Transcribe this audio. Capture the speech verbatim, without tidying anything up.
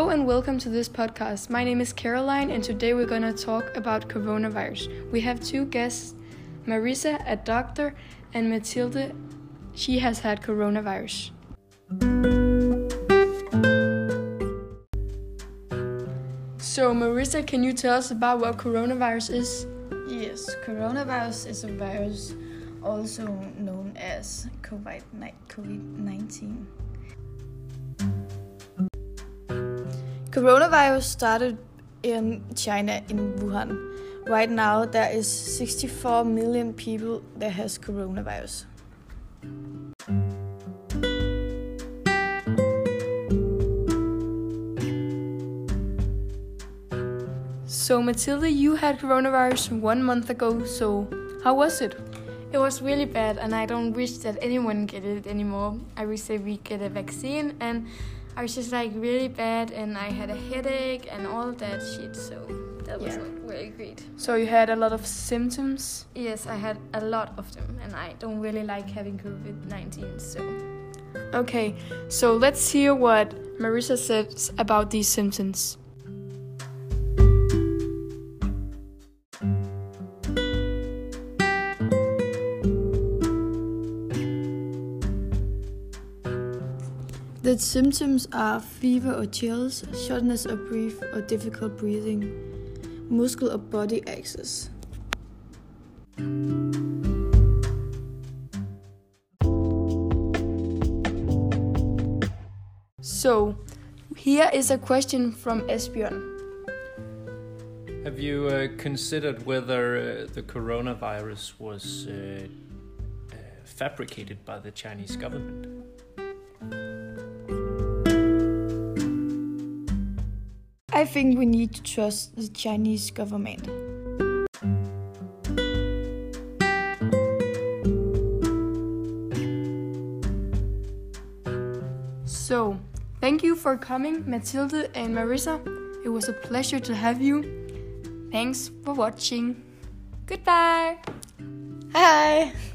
Hello and welcome to this podcast. My name is Caroline and today we're going to talk about coronavirus. We have two guests, Marisa, a doctor, and Mathilde. She has had coronavirus. So Marisa, can you tell us about what coronavirus is? Yes, coronavirus is a virus also known as COVID nineteen. Coronavirus started in China, in Wuhan. Right now, there is sixty-four million people that has coronavirus. So Mathilde, you had coronavirus one month ago, so how was it? It was really bad, and I don't wish that anyone get it anymore. I wish that we get a vaccine, and I was just like really bad, and I had a headache and all that shit, so that was Yeah. not really great. So you had a lot of symptoms? Yes, I had a lot of them, and I don't really like having COVID nineteen, so... Okay, so let's hear what Marisa says about these symptoms. The symptoms are fever or chills, shortness of breath or difficult breathing, muscle or body access. So, here is a question from Esbjørn. Have you uh, considered whether uh, the coronavirus was uh, uh, fabricated by the Chinese government? I think we need to trust the Chinese government. So, thank you for coming, Mathilde and Marisa. It was a pleasure to have you. Thanks for watching. Goodbye. Hi!